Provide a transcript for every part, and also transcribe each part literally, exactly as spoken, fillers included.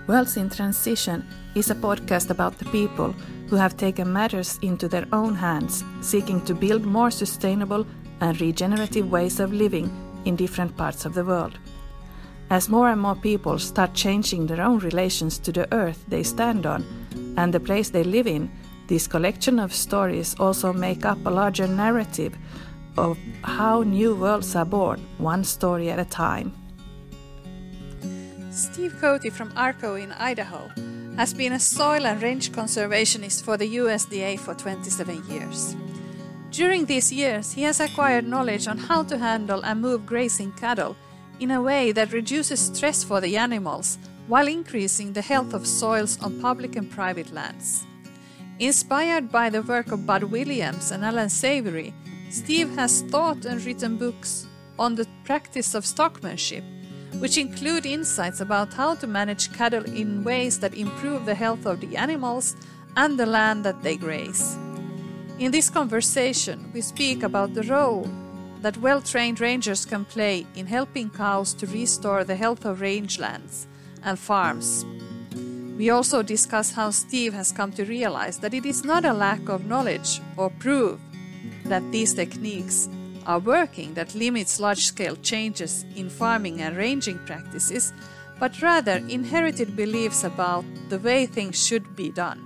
Worlds in Transition is a podcast about the people who have taken matters into their own hands, seeking to build more sustainable and regenerative ways of living in different parts of the world. As more and more people start changing their own relations to the earth they stand on and the place they live in, this collection of stories also make up a larger narrative of how new worlds are born, one story at a time. Steve Cote from ARCO in Idaho has been a soil and range conservationist for the U S D A for twenty-seven years. During these years, he has acquired knowledge on how to handle and move grazing cattle in a way that reduces stress for the animals while increasing the health of soils on public and private lands. Inspired by the work of Bud Williams and Alan Savory, Steve has taught and written books on the practice of stockmanship, which include insights about how to manage cattle in ways that improve the health of the animals and the land that they graze. In this conversation, we speak about the role that well-trained rangers can play in helping cows to restore the health of rangelands and farms. We also discuss how Steve has come to realize that it is not a lack of knowledge or proof that these techniques are working that limits large-scale changes in farming and ranging practices, but rather inherited beliefs about the way things should be done.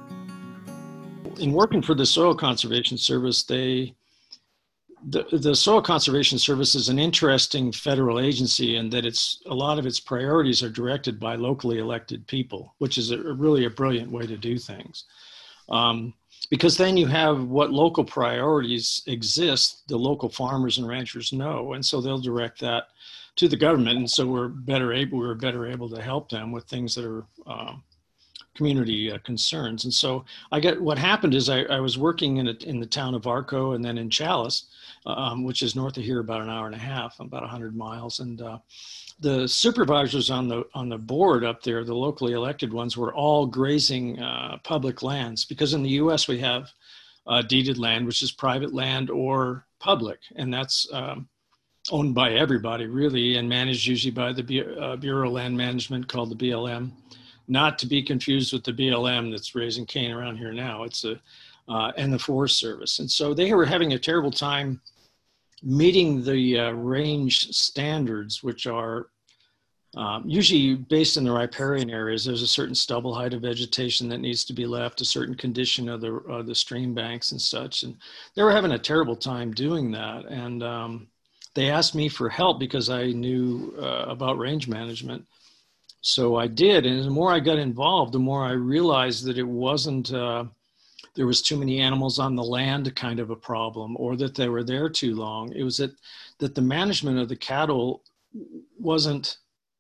In working for the Soil Conservation Service, they the, the Soil Conservation Service is an interesting federal agency in that it's a lot of its priorities are directed by locally elected people, which is a, really a brilliant way to do things. Um, Because then you have what local priorities exist, the local farmers and ranchers know, and so they'll direct that to the government, and so we're better able we're better able to help them with things that are um, community uh, concerns. And so I get what happened is I, I was working in a, in the town of Arco and then in Challis, um, which is north of here about an hour and a half, about one hundred miles, and uh, the supervisors on the on the board up there, the locally elected ones, were all grazing uh, public lands, because in the U S we have uh, deeded land, which is private land or public, and that's um, owned by everybody really and managed usually by the Bu- uh, Bureau of Land Management, called the B L M, not to be confused with the B L M that's raising cane around here now. It's a uh, and the Forest Service, and so they were having a terrible time meeting the uh, range standards, which are um, usually based in the riparian areas. There's a certain stubble height of vegetation that needs to be left, a certain condition of the uh, the stream banks and such. And they were having a terrible time doing that. And um, they asked me for help because I knew uh, about range management. So I did. And the more I got involved, the more I realized that it wasn't uh, there was too many animals on the land kind of a problem, or that they were there too long. It was that, that the management of the cattle wasn't,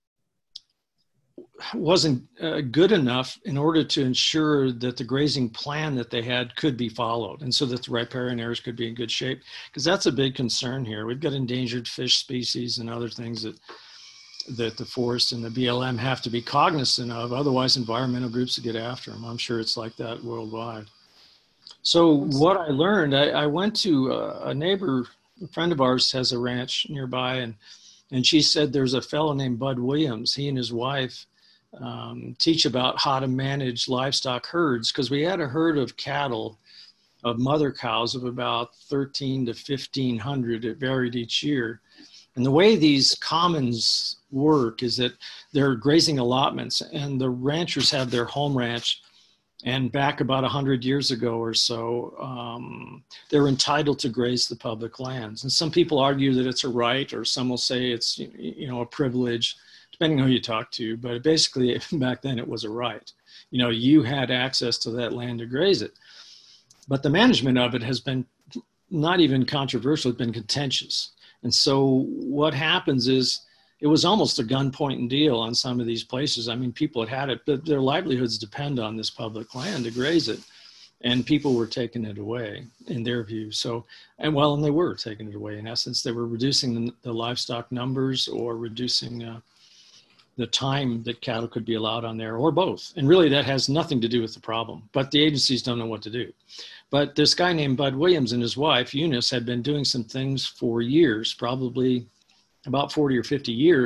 wasn't uh, good enough in order to ensure that the grazing plan that they had could be followed, and so that the riparian areas could be in good shape, because that's a big concern here. We've got endangered fish species and other things that that the forest and the B L M have to be cognizant of, otherwise environmental groups will get after them. I'm sure it's like that worldwide. So what I learned, I, I went to a, a neighbor, a friend of ours has a ranch nearby, and, and she said there's a fellow named Bud Williams. He and his wife um, teach about how to manage livestock herds, because we had a herd of cattle, of mother cows, of about thirteen to fifteen hundred. It varied each year. And the way these commons work is that they're grazing allotments, and the ranchers have their home ranch. And back about one hundred years ago or so, um, they're entitled to graze the public lands. And some people argue that it's a right, or some will say it's, you know, a privilege, depending on who you talk to. But basically, back then it was a right. You know, you had access to that land to graze it. But the management of it has been not even controversial, it's been contentious. And so what happens is, it was almost a gunpoint deal on some of these places. I mean, people had had it, but their livelihoods depend on this public land to graze it. And people were taking it away in their view. So, and well, and they were taking it away. In essence, they were reducing the, the livestock numbers, or reducing uh, the time that cattle could be allowed on there, or both. And really that has nothing to do with the problem, but the agencies don't know what to do. But this guy named Bud Williams and his wife, Eunice, had been doing some things for years, probably about forty or fifty years,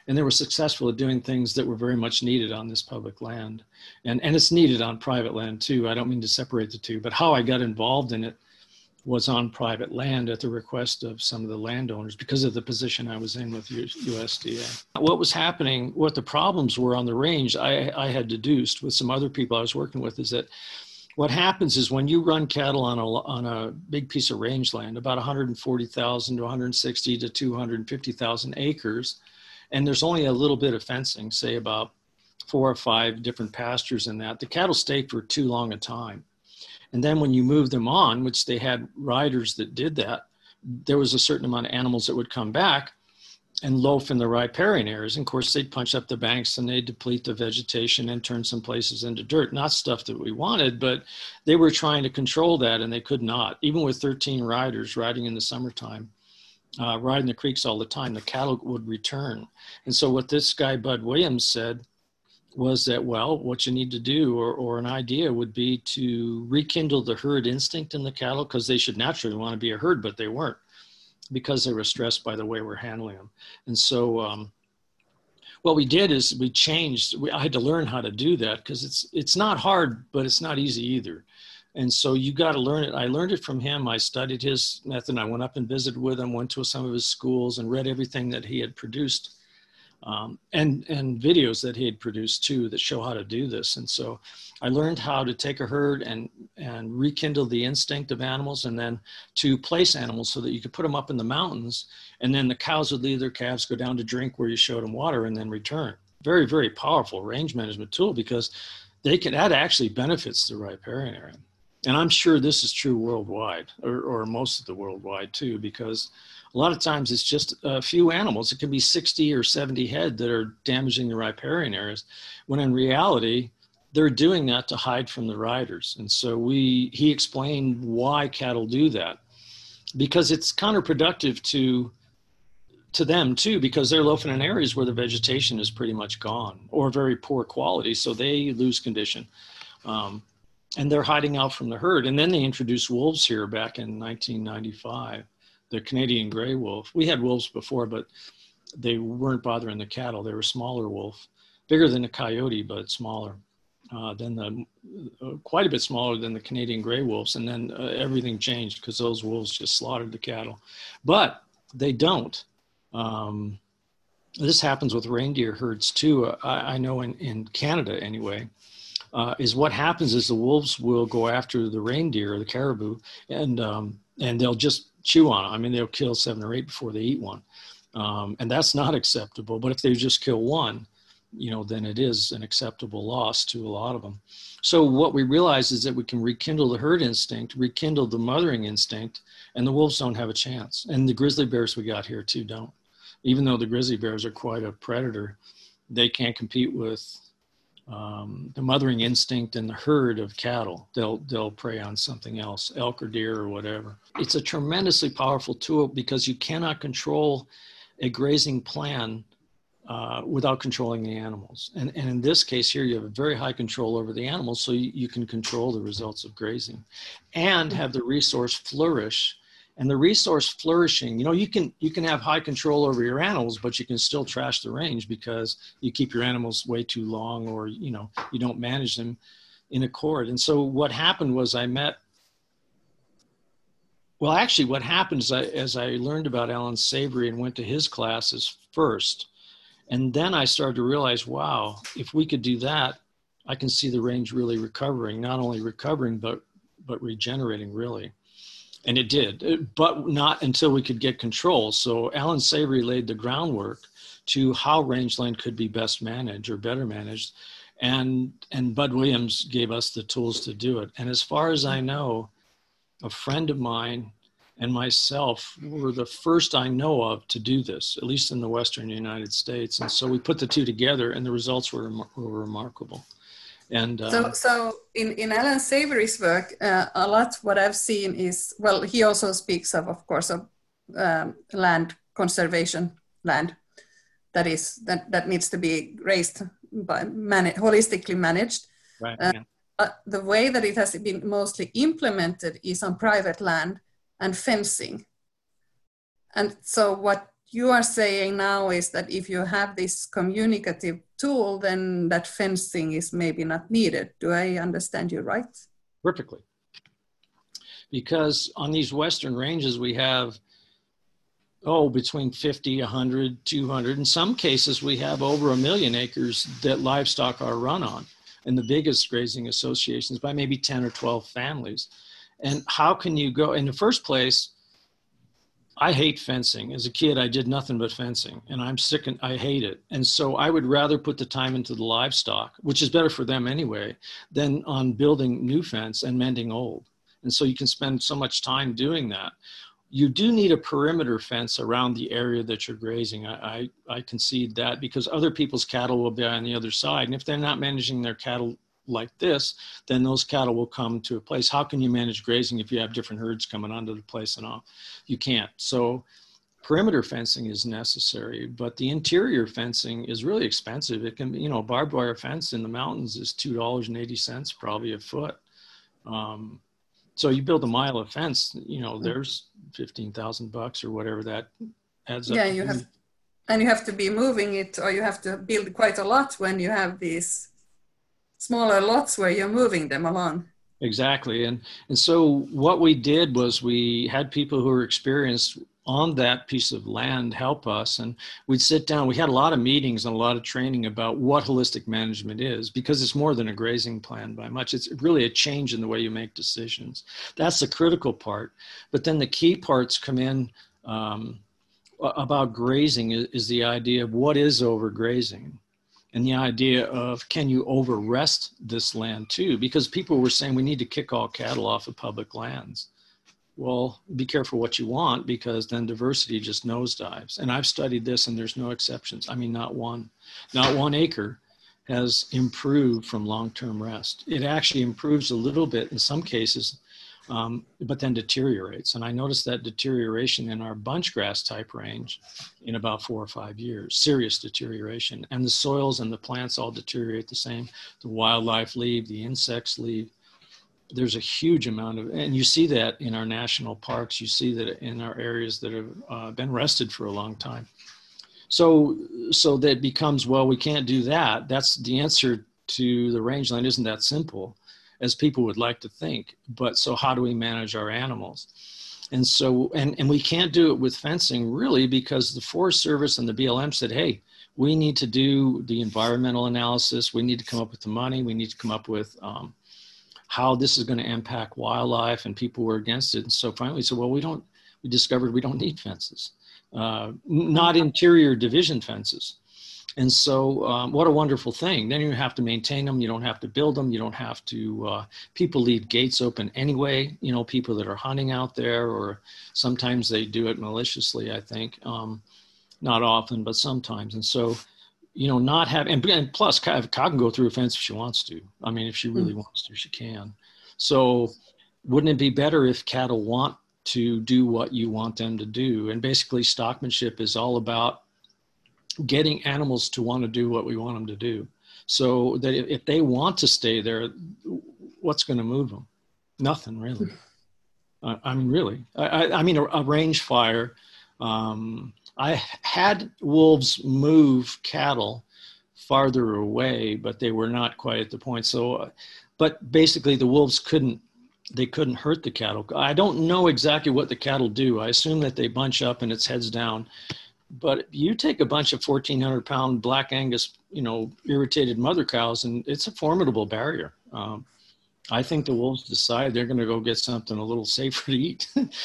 And they were successful at doing things that were very much needed on this public land. And, and it's needed on private land too. I don't mean to separate the two, but how I got involved in it was on private land at the request of some of the landowners because of the position I was in with U S D A. What was happening, what the problems were on the range, I, I had deduced with some other people I was working with, is that what happens is when you run cattle on a, on a big piece of rangeland, about one hundred forty thousand to one hundred sixty to two hundred fifty thousand acres, and there's only a little bit of fencing, say about four or five different pastures in that, the cattle stay for too long a time. And then when you move them on, which they had riders that did that, there was a certain amount of animals that would come back and loaf in the riparian areas. And of course, they'd punch up the banks and they'd deplete the vegetation and turn some places into dirt. Not stuff that we wanted, but they were trying to control that and they could not. Even with thirteen riders riding in the summertime, uh, riding the creeks all the time, the cattle would return. And so what this guy, Bud Williams, said was that, well, what you need to do, or, or an idea would be to rekindle the herd instinct in the cattle, because they should naturally want to be a herd, but they weren't, because they were stressed by the way we're handling them. And so um, what we did is we changed, we, I had to learn how to do that, because it's, it's not hard, but it's not easy either. And so you got to learn it. I learned it from him. I studied his method. I went up and visited with him, went to some of his schools and read everything that he had produced. Um, and, and videos that he had produced too that show how to do this. And so I learned how to take a herd and, and rekindle the instinct of animals, and then to place animals so that you could put them up in the mountains, and then the cows would leave their calves, go down to drink where you showed them water, and then return. Very, very powerful range management tool, because they can, that actually benefits the riparian area. And I'm sure this is true worldwide, or, or most of the worldwide too, because a lot of times it's just a few animals. It can be sixty or seventy head that are damaging the riparian areas, when in reality, they're doing that to hide from the riders. And so we, he explained why cattle do that, because it's counterproductive to, to them too, because they're loafing in areas where the vegetation is pretty much gone or very poor quality. So they lose condition. Um, and they're hiding out from the herd. And then they introduced wolves here back in nineteen ninety-five. The Canadian gray wolf. We had wolves before, but they weren't bothering the cattle. They were smaller wolf, bigger than a coyote, but smaller uh, than the, uh, quite a bit smaller than the Canadian gray wolves. And then uh, everything changed because those wolves just slaughtered the cattle. But they don't. Um, this happens with reindeer herds too. I, I know in, in Canada anyway, uh, is what happens is the wolves will go after the reindeer or the caribou, and um, and they'll just chew on it. I mean, they'll kill seven or eight before they eat one. Um, and that's not acceptable. But if they just kill one, you know, then it is an acceptable loss to a lot of them. So what we realize is that we can rekindle the herd instinct, rekindle the mothering instinct, and the wolves don't have a chance. And the grizzly bears we got here too don't. Even though the grizzly bears are quite a predator, they can't compete with Um, the mothering instinct in the herd of cattle. They'll, they'll prey on something else, elk or deer or whatever. It's a tremendously powerful tool, because you cannot control a grazing plan uh, without controlling the animals. And, and in this case here, you have a very high control over the animals, so you, you can control the results of grazing and have the resource flourish. And the resource flourishing, you know, you can, you can have high control over your animals, but you can still trash the range because you keep your animals way too long, or, you know, you don't manage them in accord. And so what happened was I met, well, actually what happened is I, as I learned about Alan Savory and went to his classes first, and then I started to realize, wow, if we could do that, I can see the range really recovering, not only recovering, but, but regenerating really. And it did, but not until we could get control. So Alan Savory laid the groundwork to how rangeland could be best managed or better managed. And, and Bud Williams gave us the tools to do it. And as far as I know, a friend of mine and myself were the first I know of to do this, at least in the Western United States. And so we put the two together, and the results were, were remarkable. And, uh, so, so in, in Alan Savory's work, uh, a lot what I've seen is, well, he also speaks of, of course, of um, land conservation, land that is that, that needs to be raised by man- holistically managed. Right. Uh, Yeah. uh, the way that it has been mostly implemented is on private land and fencing. And so what you are saying now is that if you have this communicative tool, then that fencing is maybe not needed. Do I understand you right? Perfectly. Because on these Western ranges, we have, oh, between fifty, one hundred, two hundred. In some cases, we have over a million acres that livestock are run on, and the biggest grazing associations by maybe ten or twelve families. And how can you go, in the first place, I hate fencing. As a kid, I did nothing but fencing, and I'm sick and I hate it. And so I would rather put the time into the livestock, which is better for them anyway, than on building new fence and mending old. And so you can spend so much time doing that. You do need a perimeter fence around the area that you're grazing. I, I, I concede that, because other people's cattle will be on the other side. And if they're not managing their cattle like this, then those cattle will come to a place. How can you manage grazing if you have different herds coming onto the place and all? You can't. So perimeter fencing is necessary, but the interior fencing is really expensive. It can be, you know, barbed wire fence in the mountains is two dollars and eighty cents probably a foot. Um, so you build a mile of fence, you know, there's fifteen thousand bucks or whatever that adds up. Yeah, you have, and you have to be moving it, or you have to build quite a lot when you have these smaller lots where you're moving them along. Exactly. And, and so what we did was we had people who were experienced on that piece of land help us. And we'd sit down, we had a lot of meetings and a lot of training about what holistic management is, because it's more than a grazing plan by much. It's really a change in the way you make decisions. That's the critical part. But then the key parts come in um, about grazing is, is the idea of what is overgrazing. And the idea of, can you over rest this land too? Because people were saying we need to kick all cattle off of public lands. Well, be careful what you want, because then diversity just nosedives. And I've studied this and there's no exceptions. I mean, not one, not one acre has improved from long-term rest. It actually improves a little bit in some cases, um, but then deteriorates. And I noticed that deterioration in our bunchgrass type range in about four or five years, serious deterioration. And the soils and the plants all deteriorate the same. The wildlife leave, the insects leave. There's a huge amount of, and you see that in our national parks, you see that in our areas that have uh, been rested for a long time. So, so that becomes, well, we can't do that. That's the answer to the rangeland isn't that simple as people would like to think. But so how do we manage our animals? And so, and, and we can't do it with fencing really, because the Forest Service and the B L M said, hey, we need to do the environmental analysis. We need to come up with the money. We need to come up with um, how this is going to impact wildlife, and people were against it. And so finally we said, well, we don't, we discovered we don't need fences, uh, not interior division fences. And so um, what a wonderful thing. Then you have to maintain them. You don't have to build them. You don't have to, uh, people leave gates open anyway, you know, people that are hunting out there, or sometimes they do it maliciously, I think. Um, not often, but sometimes. And so, you know, not having, and, and plus cow can go through a fence if she wants to. I mean, if she really mm. wants to, she can. So wouldn't it be better if cattle want to do what you want them to do? And basically stockmanship is all about getting animals to want to do what we want them to do. So that if, if they want to stay there, what's going to move them? Nothing really. I, I mean, really, I, I mean, a, a range fire, um, I had wolves move cattle farther away, but they were not quite at the point. So, uh, but basically the wolves couldn't, they couldn't hurt the cattle. I don't know exactly what the cattle do. I assume that they bunch up and it's heads down. But you take a bunch of fourteen hundred pound Black Angus, you know, irritated mother cows, and it's a formidable barrier. Um, I think the wolves decide they're going to go get something a little safer to eat,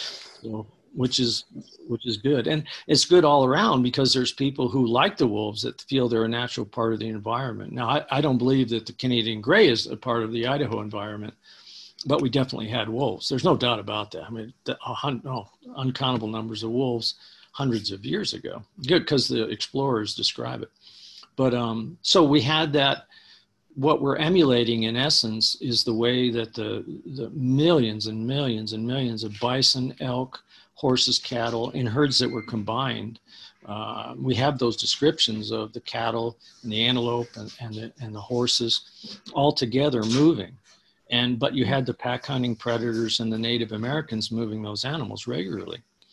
so, which is which is good. And it's good all around, because there's people who like the wolves that feel they're a natural part of the environment. Now, I, I don't believe that the Canadian gray is a part of the Idaho environment, but we definitely had wolves. There's no doubt about that. I mean, the, uh, no, uncountable numbers of wolves hundreds of years ago. Good, because the explorers describe it. But um, so we had that. What we're emulating in essence is the way that the, the millions and millions and millions of bison, elk, horses, cattle in herds that were combined. Uh, we have those descriptions of the cattle and the antelope and, and, the, and the horses all together moving. And, but you had the pack hunting predators and the Native Americans moving those animals regularly.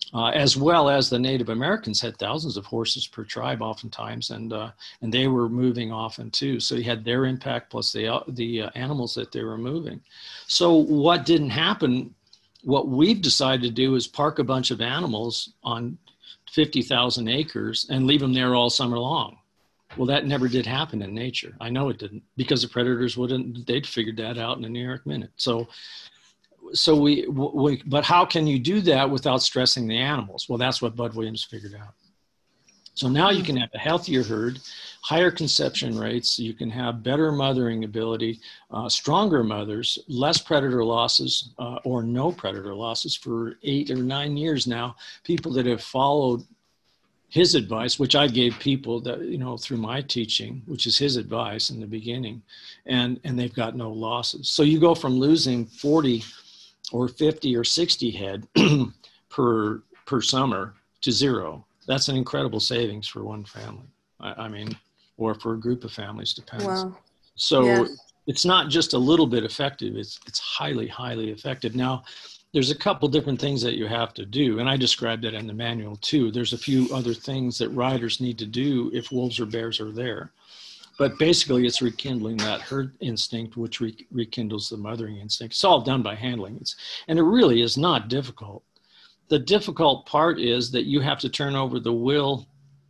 Uh, as well as the Native Americans had thousands of horses per tribe oftentimes, and uh, and they were moving often too. So you had their impact plus the, uh, the uh, animals that they were moving. So what didn't happen, what we've decided to do is park a bunch of animals on fifty thousand acres and leave them there all summer long. Well, that never did happen in nature. I know it didn't, because the predators wouldn't, they'd figured that out in a New York minute. So So we, we, but how can you do that without stressing the animals? Well, that's what Bud Williams figured out. So now you can have a healthier herd, higher conception rates, you can have better mothering ability, uh, stronger mothers, less predator losses uh, or no predator losses for eight or nine years now. People that have followed his advice, which I gave people that, you know, through my teaching, which is his advice in the beginning, and, and they've got no losses. So you go from losing forty or fifty or sixty head per per summer to zero. That's an incredible savings for one family. I, I mean, or for a group of families, depends. Wow. So Yeah. it's not just a little bit effective, it's it's highly, highly effective. Now, there's a couple different things that you have to do, and I described that in the manual too. There's a few other things that riders need to do if wolves or bears are there. But basically, it's rekindling that herd instinct, which re rekindles the mothering instinct. It's all done by handling. It's, and it really is not difficult. The difficult part is that you have to turn over the will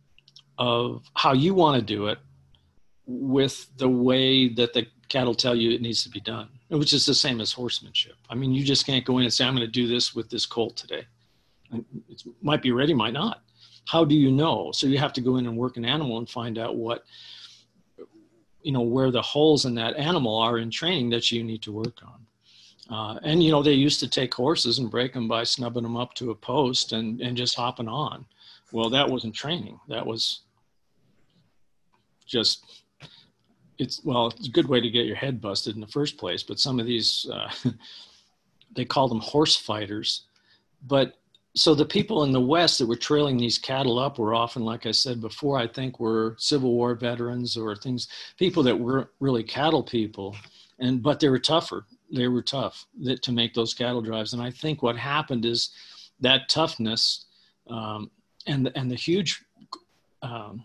of how you want to do it with the way that the cattle tell you it needs to be done, which is the same as horsemanship. I mean, you just can't go in and say, I'm going to do this with this colt today. It might be ready, might not. How do you know? So you have to go in and work an animal and find out what, you know, where the holes in that animal are in training that you need to work on. Uh, and, you know, they used to take horses and break them by snubbing them up to a post and, and just hopping on. Well, that wasn't training. That was just, it's, well, it's a good way to get your head busted in the first place. But some of these, uh, they call them horse fighters. But so the people in the West that were trailing these cattle up were often, like I said before, I think were Civil War veterans or things, people that weren't really cattle people, and but they were tougher. They were tough that, to make those cattle drives. And I think what happened is that toughness um, and, and the huge, um,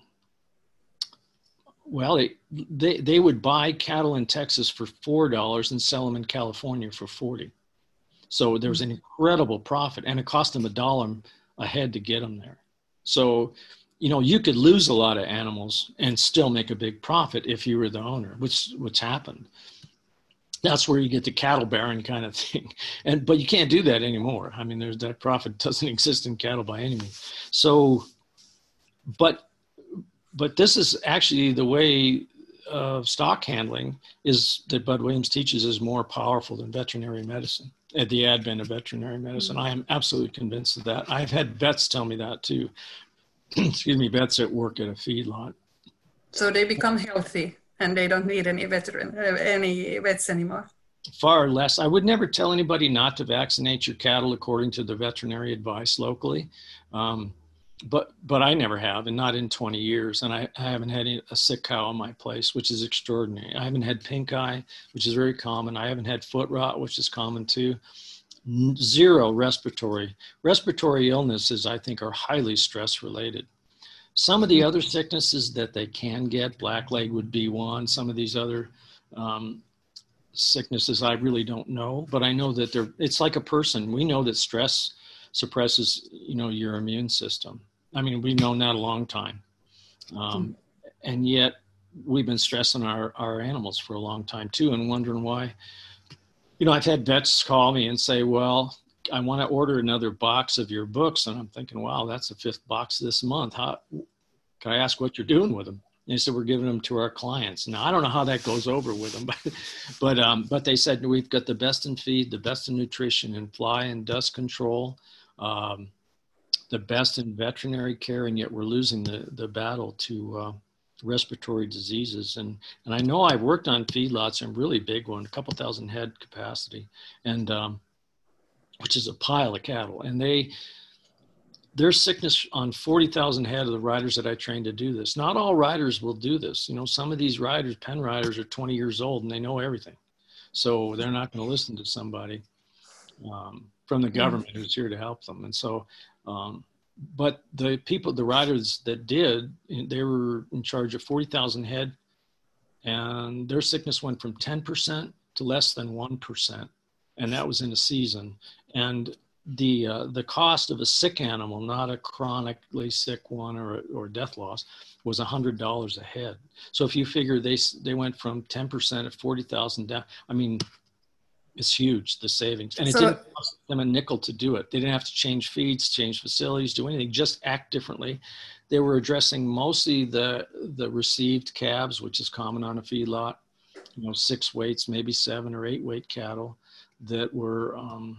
well, it, they, they would buy cattle in Texas for four dollars and sell them in California for forty. So there was an incredible profit, and it cost them a dollar a head to get them there. So, you know, you could lose a lot of animals and still make a big profit if you were the owner, which which happened. That's where you get the cattle baron kind of thing. And but you can't do that anymore. I mean, there's that profit doesn't exist in cattle by any means. So, but but this is actually the way of stock handling is that Bud Williams teaches is more powerful than veterinary medicine. At the advent of veterinary medicine. I am absolutely convinced of that. I've had vets tell me that too. Excuse me, vets that work at a feedlot. So they become healthy and they don't need any veteran, any vets anymore. Far less. I would never tell anybody not to vaccinate your cattle according to the veterinary advice locally. Um, but but I never have, and not in twenty years. And I, I haven't had a sick cow on my place, which is extraordinary. I haven't had pink eye, which is very common. I haven't had foot rot, which is common too. Zero respiratory. Respiratory illnesses, I think, are highly stress related. Some of the other sicknesses that they can get, blackleg would be one. Some of these other um, sicknesses I really don't know, but I know that they're, it's like a person. We know that stress suppresses, you know, your immune system. I mean, we've known that a long time. Um, and yet we've been stressing our, our animals for a long time too, and wondering why. You know, I've had vets call me and say, well, I want to order another box of your books. And I'm thinking, wow, that's the fifth box this month. How, can I ask what you're doing with them? And they said, we're giving them to our clients. Now, I don't know how that goes over with them, but, but, um, but they said, we've got the best in feed, the best in nutrition, and fly and dust control, um, the best in veterinary care, and yet we're losing the, the battle to uh, respiratory diseases. And, and I know I've worked on feedlots, and really big one, a couple thousand head capacity, and um, which is a pile of cattle. And they, there's sickness on forty thousand head of the riders that I trained to do this. Not all riders will do this. You know, some of these riders, pen riders, are twenty years old and they know everything. So they're not going to listen to somebody. um, from the government who's here to help them. And so, um, but the people, the riders that did, they were in charge of forty thousand head, and their sickness went from ten percent to less than one percent. And that was in a season. And the uh, the cost of a sick animal, not a chronically sick one or, or death loss, was one hundred dollars a head. So if you figure they they went from ten percent at forty thousand down, I mean, it's huge, the savings. And it so, didn't cost them a nickel to do it. They didn't have to change feeds, change facilities, do anything, just act differently. They were addressing mostly the the received calves, which is common on a feedlot, you know, six weights, maybe seven or eight weight cattle that were, um,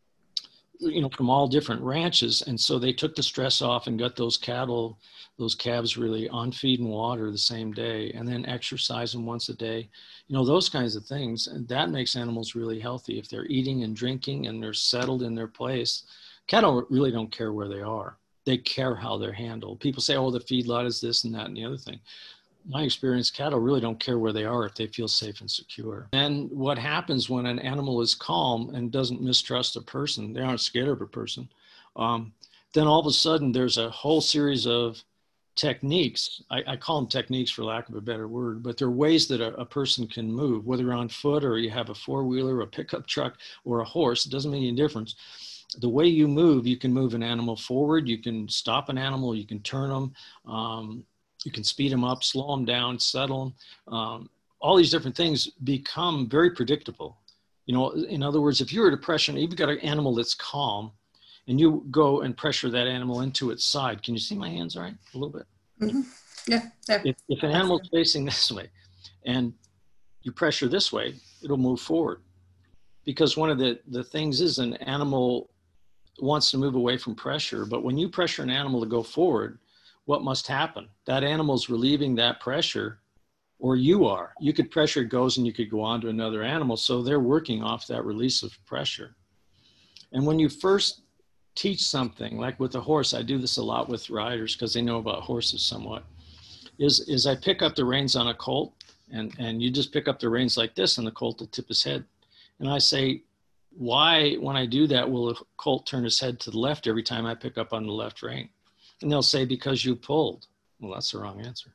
you know, from all different ranches. And so they took the stress off and got those cattle, those calves really on feed and water the same day, and then exercise them once a day, you know, those kinds of things. And that makes animals really healthy. If they're eating and drinking and they're settled in their place, cattle really don't care where they are. They care how they're handled. People say, oh, the feedlot is this and that and the other thing. My experience, cattle really don't care where they are if they feel safe and secure. And what happens when an animal is calm and doesn't mistrust a person, they aren't scared of a person, um, then all of a sudden there's a whole series of techniques. I, I call them techniques for lack of a better word, but they're ways that a, a person can move, whether you're on foot or you have a four-wheeler, a pickup truck, or a horse. It doesn't make any difference. The way you move, you can move an animal forward, you can stop an animal, you can turn them, um, you can speed them up, slow them down, settle them. Um, all these different things become very predictable. You know, in other words, if you're at a pressure, you've got an animal that's calm, and you go and pressure that animal into its side. Can you see my hands all right? A little bit? Mm-hmm. Yeah. yeah. If, if an animal's facing this way, and you pressure this way, it'll move forward. Because one of the, the things is an animal wants to move away from pressure, but when you pressure an animal to go forward, what must happen? That animal's relieving that pressure, or you are. You could pressure, it goes, and you could go on to another animal. So they're working off that release of pressure. And when you first teach something, like with a horse, I do this a lot with riders because they know about horses somewhat, is, is I pick up the reins on a colt, and, and you just pick up the reins like this, and the colt will tip his head. And I say, why, when I do that, will a colt turn his head to the left every time I pick up on the left rein? And they'll say, because you pulled. Well, that's the wrong answer.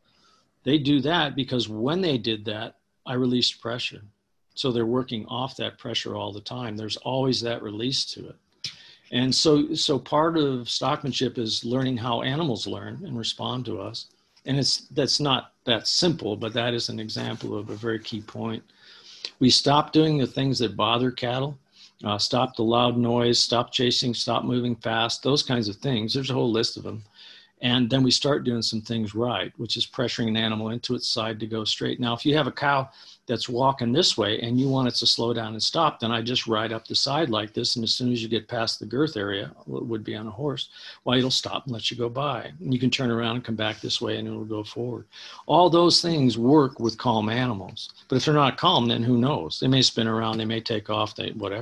They do that because when they did that, I released pressure. So they're working off that pressure all the time. There's always that release to it. And so, so part of stockmanship is learning how animals learn and respond to us. And it's, that's not that simple, but that is an example of a very key point. We stop doing the things that bother cattle. Uh, stop the loud noise, stop chasing, stop moving fast, those kinds of things. There's a whole list of them. And then we start doing some things right, which is pressuring an animal into its side to go straight. Now, if you have a cow that's walking this way and you want it to slow down and stop, then I just ride up the side like this. And as soon as you get past the girth area, it would be on a horse, well, it'll stop and let you go by. And you can turn around and come back this way and it'll go forward. All those things work with calm animals. But if they're not calm, then who knows? They may spin around, they may take off, they, whatever.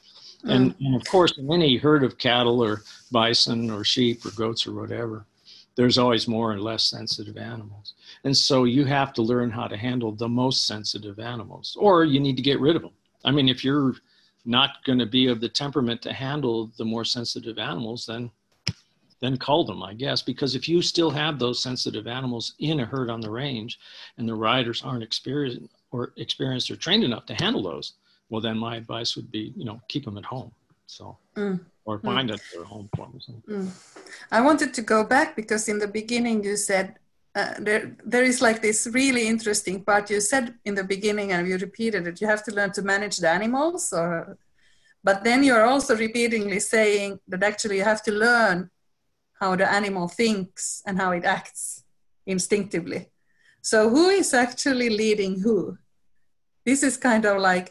And, and of course, in any herd of cattle or bison or sheep or goats or whatever, there's always more and less sensitive animals. And so you have to learn how to handle the most sensitive animals, or you need to get rid of them. I mean, if you're not going to be of the temperament to handle the more sensitive animals, then, then cull them, I guess, because if you still have those sensitive animals in a herd on the range and the riders aren't experienced or experienced or trained enough to handle those, well, then my advice would be, you know, keep them at home. So, mm. or find mm. a home for them. Mm. I wanted to go back because in the beginning you said uh, there there is like this really interesting part. You said in the beginning, and you repeated it, you have to learn to manage the animals. Or, but then you're also repeatedly saying that actually you have to learn how the animal thinks and how it acts instinctively. So who is actually leading who? This is kind of like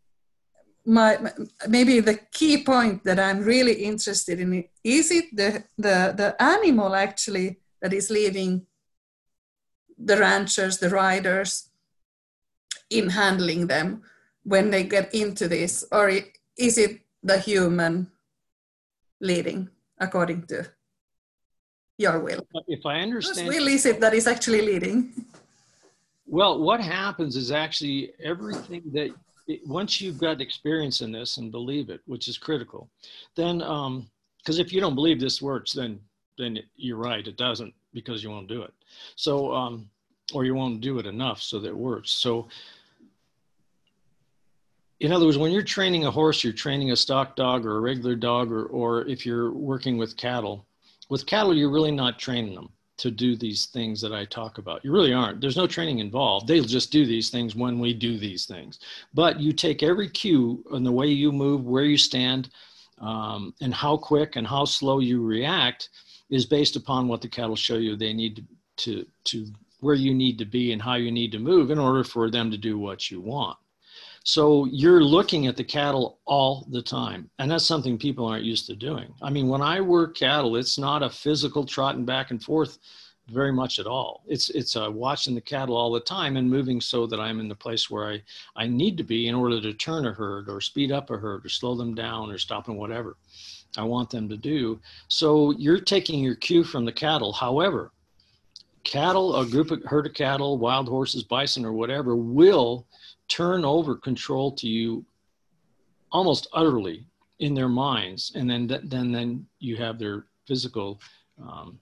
My, maybe the key point that I'm really interested in. Is it the, the, the animal actually that is leading the ranchers, the riders, in handling them when they get into this? Or is it the human leading according to your will? If I understand. Whose will is it that is actually leading? Well, what happens is actually everything that it, once you've got experience in this and believe it, which is critical, then, um, because if you don't believe this works, then then you're right, it doesn't, because you won't do it. So, um, or you won't do it enough so that it works. So, in other words, when you're training a horse, you're training a stock dog or a regular dog, or, or if you're working with cattle. With cattle, you're really not training them to do these things that I talk about. You really aren't. There's no training involved. They'll just do these things when we do these things. But you take every cue in the way you move, where you stand, um, and how quick and how slow you react is based upon what the cattle show you they need to, to, to where you need to be and how you need to move in order for them to do what you want. So you're looking at the cattle all the time. And that's something people aren't used to doing. I mean, when I work cattle, it's not a physical trotting back and forth very much at all. It's it's uh, watching the cattle all the time and moving so that I'm in the place where I, I need to be in order to turn a herd or speed up a herd or slow them down or stop them, whatever I want them to do. So you're taking your cue from the cattle. However, cattle, a group of herd of cattle, wild horses, bison, or whatever, will turn over control to you almost utterly in their minds. And then, then, then you have their physical um,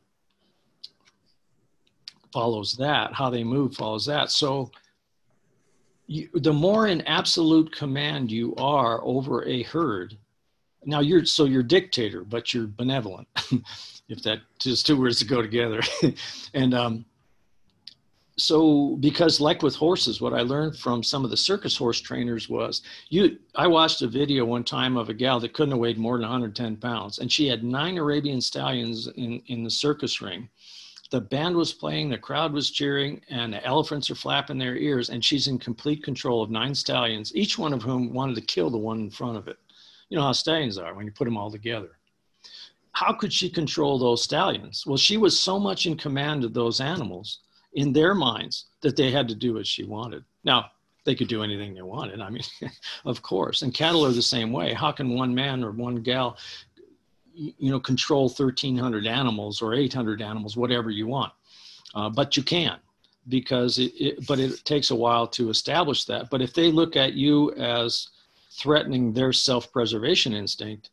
follows that, how they move follows that. So you, the more in absolute command you are over a herd, now you're, so you're dictator, but you're benevolent, if that just two words to go together. and, um, So, because like with horses, what I learned from some of the circus horse trainers was, you. I watched a video one time of a gal that couldn't have weighed more than one hundred ten pounds, and she had nine Arabian stallions in, in the circus ring. The band was playing, the crowd was cheering, and the elephants are flapping their ears, and she's in complete control of nine stallions, each one of whom wanted to kill the one in front of it. You know how stallions are when you put them all together. How could she control those stallions? Well, she was so much in command of those animals in their minds that they had to do what she wanted. Now, they could do anything they wanted. I mean, of course. And cattle are the same way. How can one man or one gal, you know, control thirteen hundred animals or eight hundred animals, whatever you want? Uh, but you can, because it, it, but it takes a while to establish that. But if they look at you as threatening their self-preservation instinct,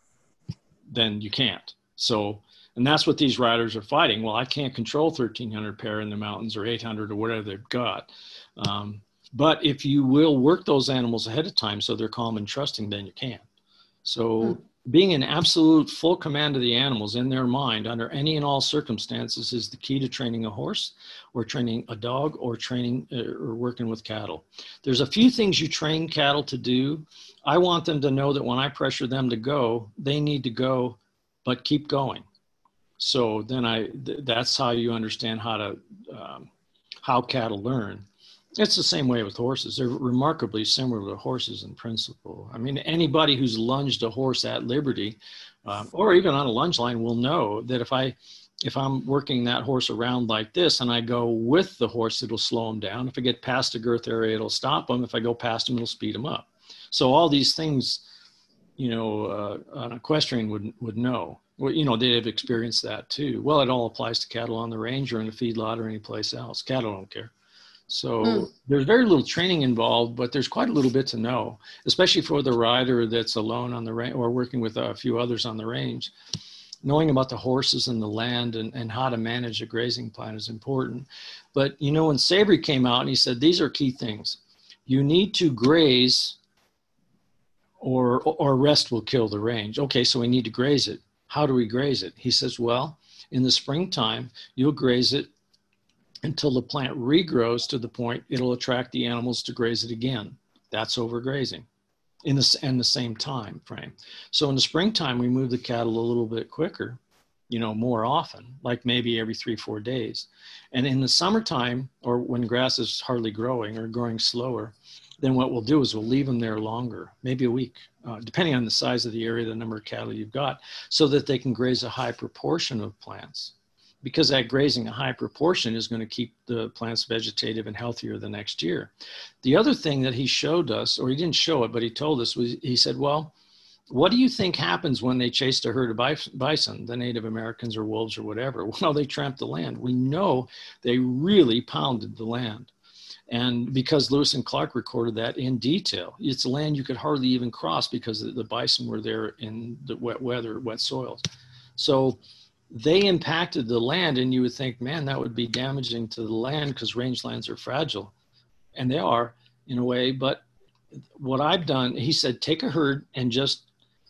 then you can't. So, and that's what these riders are fighting. Well, I can't control thirteen hundred pair in the mountains or eight hundred or whatever they've got. Um, but if you will work those animals ahead of time so they're calm and trusting, then you can. So mm. being in absolute full command of the animals in their mind under any and all circumstances is the key to training a horse or training a dog or training uh, or working with cattle. There's a few things you train cattle to do. I want them to know that when I pressure them to go, they need to go, but keep going. So then I, th- that's how you understand how to, um, how cattle learn. It's the same way with horses. They're remarkably similar to horses in principle. I mean, anybody who's lunged a horse at liberty, um, or even on a lunge line, will know that if I, if I'm working that horse around like this and I go with the horse, it'll slow him down. If I get past the girth area, it'll stop him. If I go past him, it'll speed him up. So all these things, you know, uh, an equestrian would would know. Well, you know, they have experienced that too. Well, it all applies to cattle on the range or in a feedlot or any place else. Cattle don't care. So mm. there's very little training involved, but there's quite a little bit to know, especially for the rider that's alone on the range or working with a few others on the range. Knowing about the horses and the land and, and how to manage a grazing plan is important. But, you know, when Savory came out and he said, these are key things. You need to graze or, or rest will kill the range. Okay, so we need to graze it. How do we graze it? He says, well, in the springtime, you'll graze it until the plant regrows to the point it'll attract the animals to graze it again. That's overgrazing in the, in the same time frame. So in the springtime, we move the cattle a little bit quicker, you know, more often, like maybe every three, four days. And in the summertime, or when grass is hardly growing or growing slower, then what we'll do is we'll leave them there longer, maybe a week, uh, depending on the size of the area, the number of cattle you've got, so that they can graze a high proportion of plants. Because that grazing a high proportion is going to keep the plants vegetative and healthier the next year. The other thing that he showed us, or he didn't show it, but he told us, was he said, well, what do you think happens when they chased a herd of bison, the Native Americans or wolves or whatever? Well, they tramped the land. We know they really pounded the land. And because Lewis and Clark recorded that in detail, it's land you could hardly even cross because the bison were there in the wet weather, wet soils. So they impacted the land, and you would think, man, that would be damaging to the land because rangelands are fragile. And they are in a way, but what I've done, he said, take a herd and just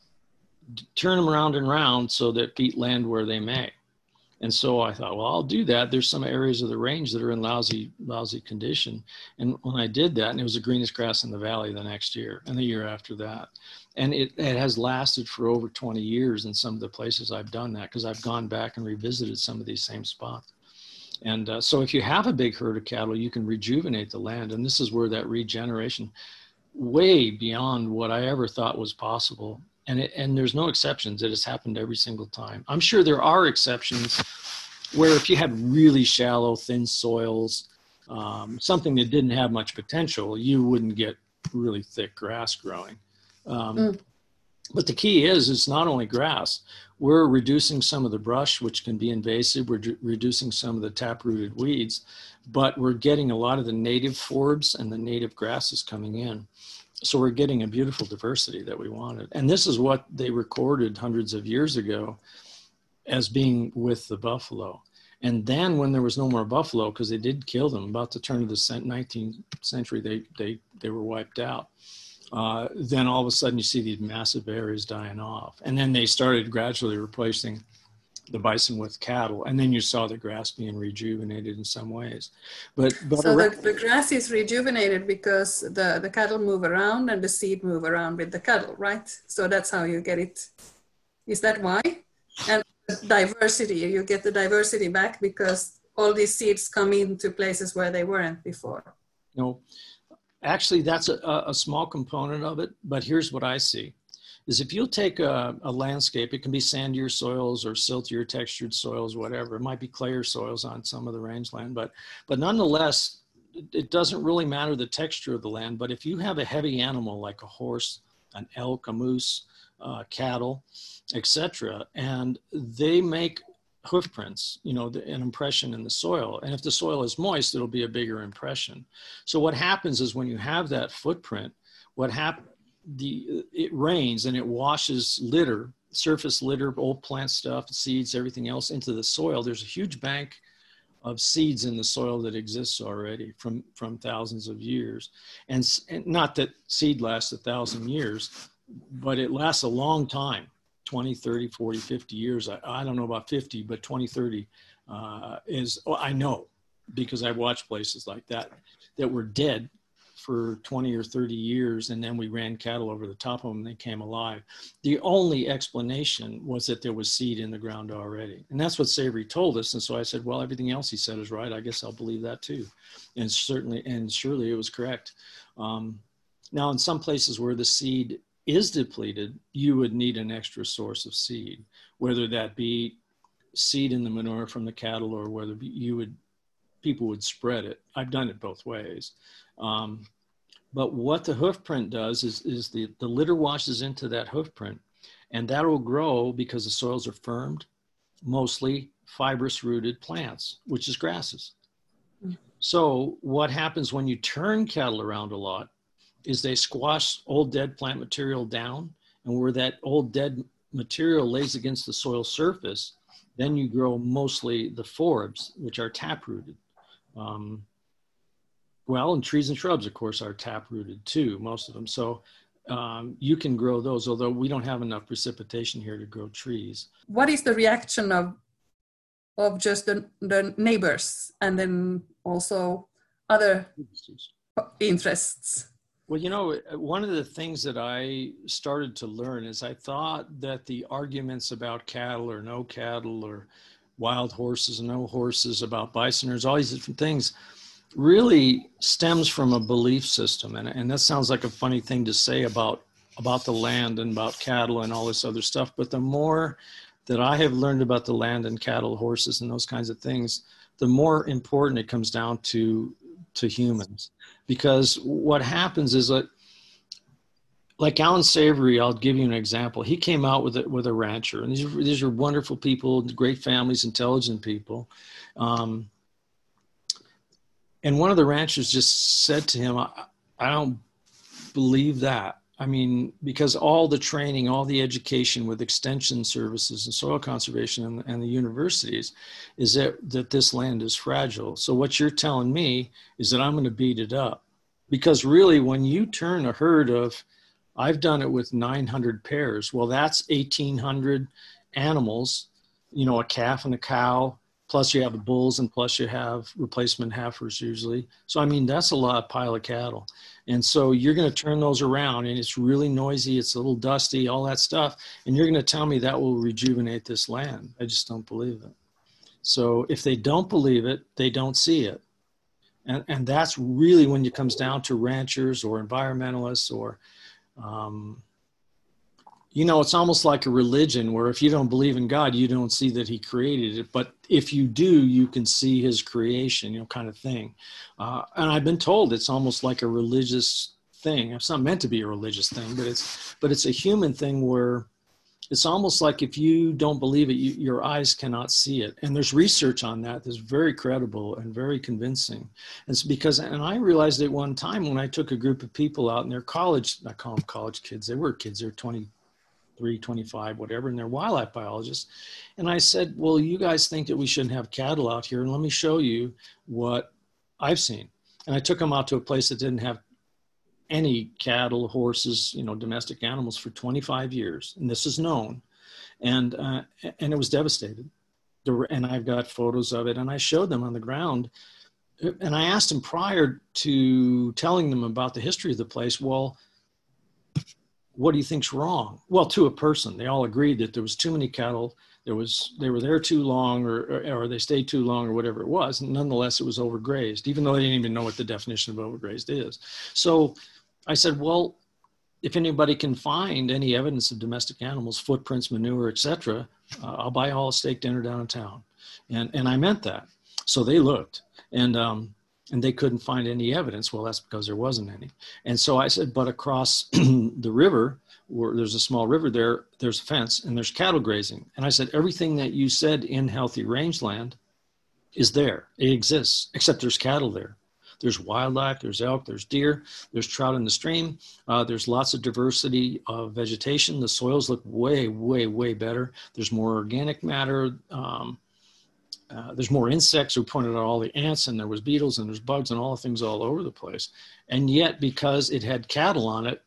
turn them around and round so that feet land where they may. And so I thought, well, I'll do that. There's some areas of the range that are in lousy, lousy condition. And when I did that, and it was the greenest grass in the valley the next year and the year after that. And it, it has lasted for over twenty years in some of the places I've done that, because I've gone back and revisited some of these same spots. And uh, so if you have a big herd of cattle, you can rejuvenate the land. And this is where that regeneration, way beyond what I ever thought was possible. And, it, and there's no exceptions. It has happened every single time. I'm sure there are exceptions where if you had really shallow, thin soils, um, something that didn't have much potential, you wouldn't get really thick grass growing. Um, mm. But the key is, it's not only grass. We're reducing some of the brush, which can be invasive. We're d- reducing some of the tap-rooted weeds, but we're getting a lot of the native forbs and the native grasses coming in. So we're getting a beautiful diversity that we wanted. And this is what they recorded hundreds of years ago as being with the buffalo. And then when there was no more buffalo, because they did kill them, about the turn of the nineteenth century, they, they, they were wiped out. Uh, then all of a sudden you see these massive areas dying off. And then they started gradually replacing the bison with cattle. And then you saw the grass being rejuvenated in some ways. But, but So the, the grass is rejuvenated because the, the cattle move around and the seed move around with the cattle, right? So that's how you get it. Is that why? And diversity, you get the diversity back because all these seeds come into places where they weren't before. No. Actually, that's a, a small component of it, but here's what I see, is if you'll take a, a landscape, it can be sandier soils or siltier textured soils, whatever. It might be clayer soils on some of the rangeland, but, but nonetheless, it doesn't really matter the texture of the land. But if you have a heavy animal like a horse, an elk, a moose, uh, cattle, et cetera, and they make hoof prints, you know, the, an impression in the soil. And if the soil is moist, it'll be a bigger impression. So what happens is when you have that footprint, what happens, the, it rains and it washes litter, surface litter, old plant stuff, seeds, everything else into the soil. There's a huge bank of seeds in the soil that exists already from, from thousands of years. And, and not that seed lasts a thousand years, but it lasts a long time. twenty, thirty, forty, fifty years. I, I don't know about fifty, but twenty, thirty uh, is, well, I know because I've watched places like that, that were dead for twenty or thirty years. And then we ran cattle over the top of them and they came alive. The only explanation was that there was seed in the ground already. And that's what Savory told us. And so I said, well, everything else he said is right. I guess I'll believe that too. And certainly, and surely it was correct. Um, now in some places where the seed is depleted, you would need an extra source of seed, whether that be seed in the manure from the cattle or whether you would, people would spread it. I've done it both ways. Um, but what the hoof print does is, is the, the litter washes into that hoof print, and that will grow because the soils are firmed, mostly fibrous rooted plants, which is grasses. Mm. So what happens when you turn cattle around a lot is they squash old dead plant material down, and where that old dead material lays against the soil surface, then you grow mostly the forbs, which are taprooted. Um, well, and trees and shrubs, of course, are taprooted too, most of them. So um, you can grow those, although we don't have enough precipitation here to grow trees. What is the reaction of, of just the, the neighbors and then also other interests? Well, you know, one of the things that I started to learn is I thought that the arguments about cattle or no cattle or wild horses and no horses, about bisoners, all these different things really stems from a belief system. And, and that sounds like a funny thing to say about, about the land and about cattle and all this other stuff. But the more that I have learned about the land and cattle, horses and those kinds of things, the more important it comes down to to humans. Because what happens is that, like Alan Savory, I'll give you an example. He came out with a, with a rancher, and these are, these are wonderful people, great families, intelligent people. Um, And one of the ranchers just said to him, I, I don't believe that. I mean, because all the training, all the education with extension services and soil conservation and, and the universities is that, that this land is fragile. So what you're telling me is that I'm going to beat it up. Because really, when you turn a herd of, I've done it with nine hundred pairs. Well, that's eighteen hundred animals, you know, a calf and a cow, plus you have the bulls, and plus you have replacement heifers usually. So, I mean, that's a lot pile of cattle. And so you're going to turn those around, and it's really noisy. It's a little dusty, all that stuff. And you're going to tell me that will rejuvenate this land. I just don't believe it. So if they don't believe it, they don't see it. And, and that's really when it comes down to ranchers or environmentalists or, um, you know, it's almost like a religion where if you don't believe in God, you don't see that he created it. But if you do, you can see his creation, you know, kind of thing. Uh, and I've been told it's almost like a religious thing. It's not meant to be a religious thing, but it's, but it's a human thing where it's almost like if you don't believe it, you, your eyes cannot see it. And there's research on that that's very credible and very convincing. And it's because, and I realized it one time when I took a group of people out in their college, I call them college kids, they were kids, they were twenty-three, twenty-five, whatever, and they're wildlife biologists. And I said, well, you guys think that we shouldn't have cattle out here, and let me show you what I've seen. And I took them out to a place that didn't have any cattle, horses, you know, domestic animals for twenty-five years. And this is known. And, uh, and it was devastated. And I've got photos of it, and I showed them on the ground. And I asked them prior to telling them about the history of the place, well, what do you think's wrong? Well, to a person, they all agreed that there was too many cattle. There was, they were there too long, or, or, or they stayed too long, or whatever it was. And nonetheless, it was overgrazed, even though they didn't even know what the definition of overgrazed is. So I said, well, if anybody can find any evidence of domestic animals, footprints, manure, et cetera, uh, I'll buy all a steak dinner down in town. And, and I meant that. So they looked, and, um, and they couldn't find any evidence. Well, that's because there wasn't any. And so I said, but across the river, where there's a small river there, there's a fence and there's cattle grazing. And I said, everything that you said in healthy rangeland is there. It exists, except there's cattle there. There's wildlife, there's elk, there's deer, there's trout in the stream. Uh, there's lots of diversity of vegetation. The soils look way, way, way better. There's more organic matter. Um, uh, there's more insects. We pointed out all the ants, and there was beetles, and there's bugs, and all the things all over the place. And yet, because it had cattle on it,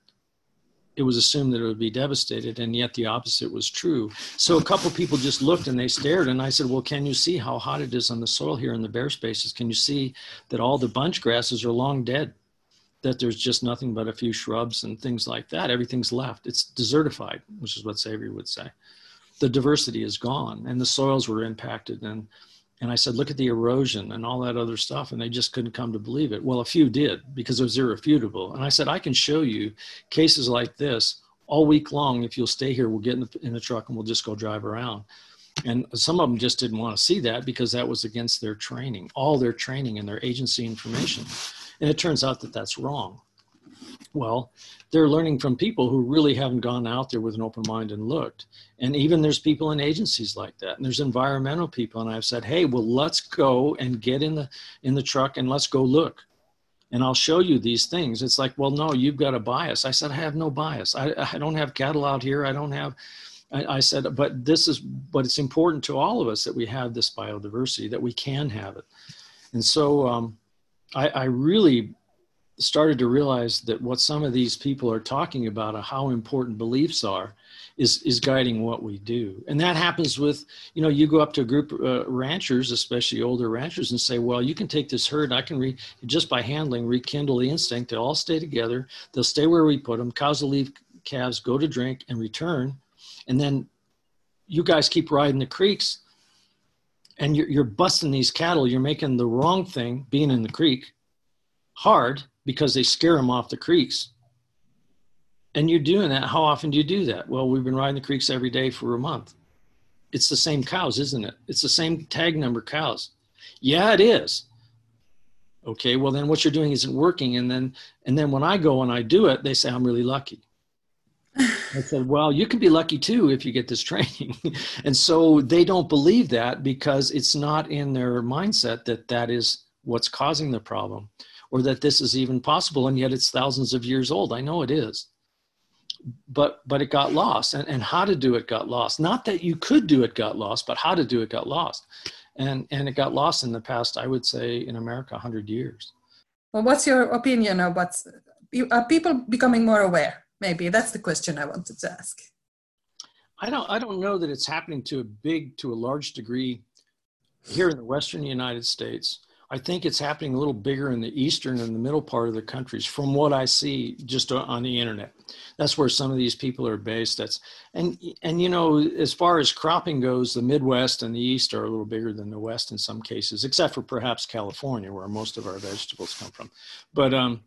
it was assumed that it would be devastated, and yet the opposite was true. So a couple of people just looked and they stared, and I said, well, can you see how hot it is on the soil here in the bare spaces? Can you see that all the bunch grasses are long dead, that there's just nothing but a few shrubs and things like that? Everything's left. It's desertified, which is what Xavier would say. The diversity is gone, and the soils were impacted. And And I said, look at the erosion and all that other stuff. And they just couldn't come to believe it. Well, a few did, because it was irrefutable. And I said, I can show you cases like this all week long. If you'll stay here, we'll get in the, in the truck and we'll just go drive around. And some of them just didn't want to see that because that was against their training, all their training and their agency information. And it turns out that that's wrong. Well, they're learning from people who really haven't gone out there with an open mind and looked. And even there's people in agencies like that. And there's environmental people. And I've said, hey, well, let's go and get in the, in the truck and let's go look. And I'll show you these things. It's like, well, no, you've got a bias. I said, I have no bias. I, I don't have cattle out here. I don't have, I, I said, but this is, but it's important to all of us that we have this biodiversity, that we can have it. And so um, I, I really started to realize that what some of these people are talking about, how important beliefs are, is, is guiding what we do. And that happens with, you know, you go up to a group of uh, ranchers, especially older ranchers, and say, well, you can take this herd, I can, re just by handling, rekindle the instinct. They'll all stay together. They'll stay where we put them. Cows will leave calves, go to drink and return. And then you guys keep riding the creeks, and you're, you're busting these cattle. You're making the wrong thing, being in the creek, hard, because they scare them off the creeks. And you're doing that. How often do you do that? Well, we've been riding the creeks every day for a month. It's the same cows, isn't it? It's the same tag number cows. Yeah, it is. Okay, well then what you're doing isn't working. And then, and then when I go and I do it, they say, I'm really lucky. I said, well, you can be lucky too if you get this training. And so they don't believe that because it's not in their mindset that that is what's causing the problem, or that this is even possible, and yet it's thousands of years old. I know it is. But but it got lost, and, and how to do it got lost. Not that you could do it got lost, but how to do it got lost. And, and it got lost in the past, I would say, in America, one hundred years. Well, what's your opinion of what's, are people becoming more aware? Maybe that's the question I wanted to ask. I don't, I don't know that it's happening to a big, to a large degree here in the Western United States. I think it's happening a little bigger in the eastern and the middle part of the countries from what I see just on the internet. That's where some of these people are based. That's, and, and you know, as far as cropping goes, the Midwest and the East are a little bigger than the West in some cases, except for perhaps California, where most of our vegetables come from. But um,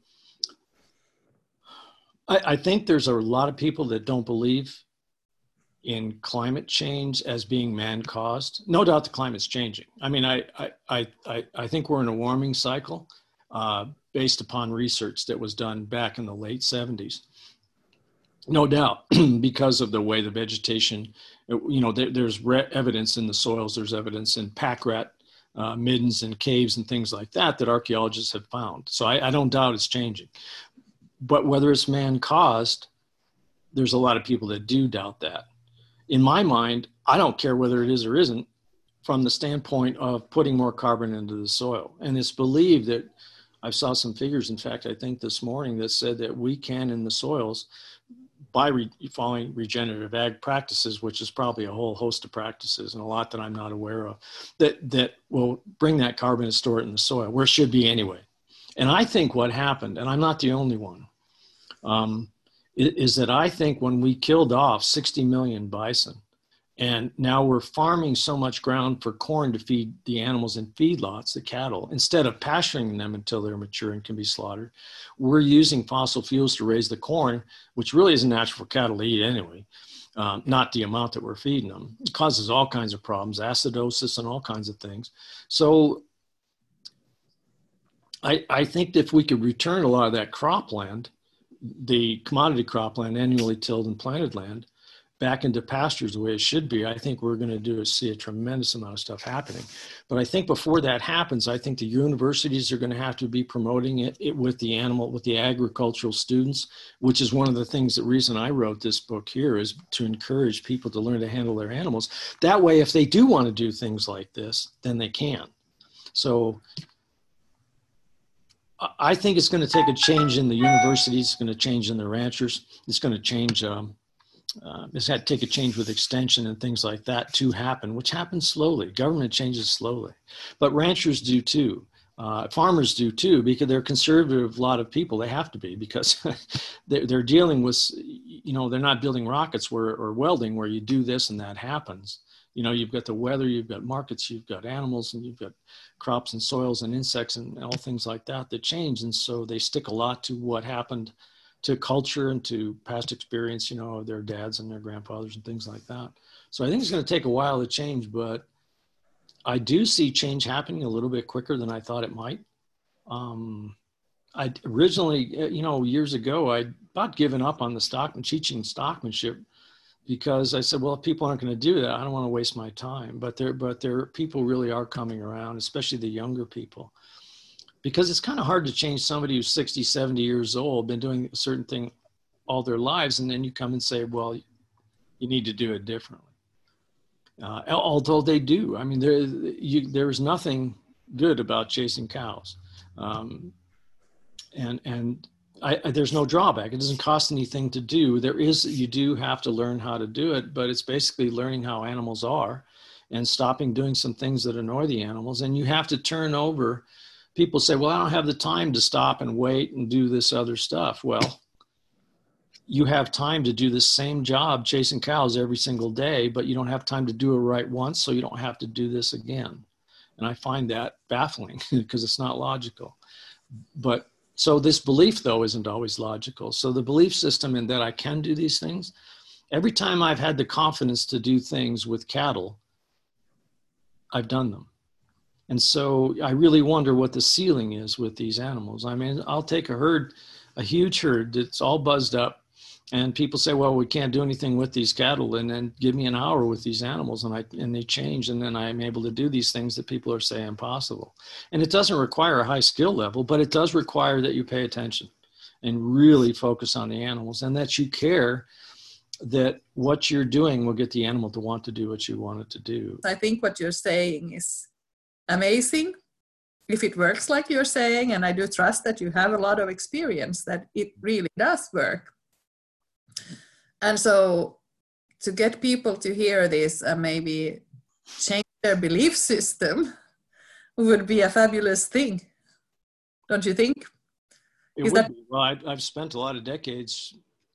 I, I think there's a lot of people that don't believe in climate change as being man-caused. No doubt the climate's changing. I mean, I, I, I, I think we're in a warming cycle uh, based upon research that was done back in the late seventies. No doubt, because of the way the vegetation, you know, there, there's evidence in the soils, there's evidence in pack rat uh, middens and caves and things like that that archaeologists have found. So I, I don't doubt it's changing. But whether it's man-caused, there's a lot of people that do doubt that. In my mind, I don't care whether it is or isn't from the standpoint of putting more carbon into the soil. And it's believed that, I saw some figures, in fact, I think this morning, that said that we can in the soils, by re following regenerative ag practices, which is probably a whole host of practices and a lot that I'm not aware of, that, that will bring that carbon and store it in the soil, where it should be anyway. And I think what happened, and I'm not the only one, um, is that I think when we killed off sixty million bison, and now we're farming so much ground for corn to feed the animals in feedlots, the cattle, instead of pasturing them until they're mature and can be slaughtered, we're using fossil fuels to raise the corn, which really isn't natural for cattle to eat anyway, um, not the amount that we're feeding them. It causes all kinds of problems, acidosis and all kinds of things. So I, I think if we could return a lot of that cropland, the commodity cropland, annually tilled and planted land, back into pastures the way it should be, I think we're going to do is see a tremendous amount of stuff happening. But I think before that happens, I think the universities are going to have to be promoting it, it with the animal, with the agricultural students, which is one of the things, the reason I wrote this book here is to encourage people to learn to handle their animals. That way, if they do want to do things like this, then they can. So I think it's going to take a change in the universities. It's going to change in the ranchers. It's going to change, um, uh, it's had to take a change with extension and things like that to happen, which happens slowly. Government changes slowly, but ranchers do too. Uh, farmers do too, because they're conservative, a lot of people, they have to be, because they're, they're dealing with, you know, they're not building rockets where, or welding where you do this and that happens. You know, you've got the weather, you've got markets, you've got animals, and you've got crops and soils and insects and all things like that that change. And so they stick a lot to what happened to culture and to past experience, you know, of their dads and their grandfathers and things like that. So I think it's going to take a while to change, but I do see change happening a little bit quicker than I thought it might. Um, I originally, you know, years ago, I about given up on the stockman, teaching stockmanship, because I said, well, if people aren't going to do that, I don't want to waste my time. But there, but there, people really are coming around, especially the younger people, because it's kind of hard to change somebody who's sixty, seventy years old, been doing a certain thing all their lives, and then you come and say, well, you need to do it differently. Uh, although they do. I mean, there, you, there's nothing good about chasing cows. Um, and, and, I, I, there's no drawback. It doesn't cost anything to do. There is, you do have to learn how to do it, but it's basically learning how animals are and stopping doing some things that annoy the animals. And you have to turn over. People say, well, I don't have the time to stop and wait and do this other stuff. Well, you have time to do the same job chasing cows every single day, but you don't have time to do it right once, so you don't have to do this again. And I find that baffling because it's not logical. But so this belief, though, isn't always logical. So the belief system in that I can do these things, every time I've had the confidence to do things with cattle, I've done them. And so I really wonder what the ceiling is with these animals. I mean, I'll take a herd, a huge herd that's all buzzed up, And people say, well, we can't do anything with these cattle, and then give me an hour with these animals, and I and they change, and then I'm able to do these things that people are saying impossible. And it doesn't require a high skill level, but it does require that you pay attention and really focus on the animals, and that you care that what you're doing will get the animal to want to do what you want it to do. I think what you're saying is amazing. If it works like you're saying, and I do trust that you have a lot of experience, that it really does work. And so to get people to hear this and maybe change their belief system would be a fabulous thing. Don't you think? It Is would that- be. Well, I, I've spent a lot of decades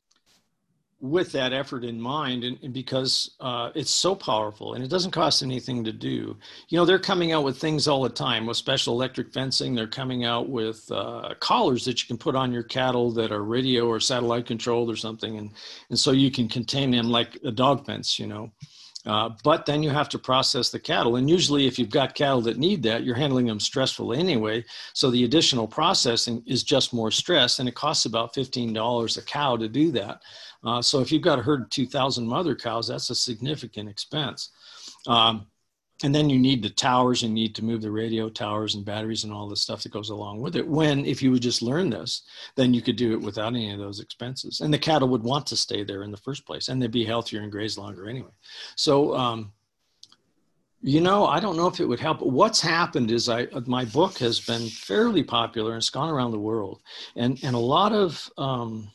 with that effort in mind, and, and because uh, it's so powerful and it doesn't cost anything to do. You know, they're coming out with things all the time with special electric fencing. They're coming out with uh, collars that you can put on your cattle that are radio or satellite controlled or something. And, and so you can contain them like a dog fence, you know. Uh, but then you have to process the cattle. And usually if you've got cattle that need that, you're handling them stressful anyway. So the additional processing is just more stress, and it costs about fifteen dollars a cow to do that. Uh, so if you've got a herd of two thousand mother cows, that's a significant expense. Um, and then you need the towers, and you need to move the radio towers and batteries and all the stuff that goes along with it. When, if you would just learn this, then you could do it without any of those expenses. And the cattle would want to stay there in the first place, and they'd be healthier and graze longer anyway. So, um, you know, I don't know if it would help. What's happened is I, my book has been fairly popular, and it's gone around the world. And, and a lot of, um,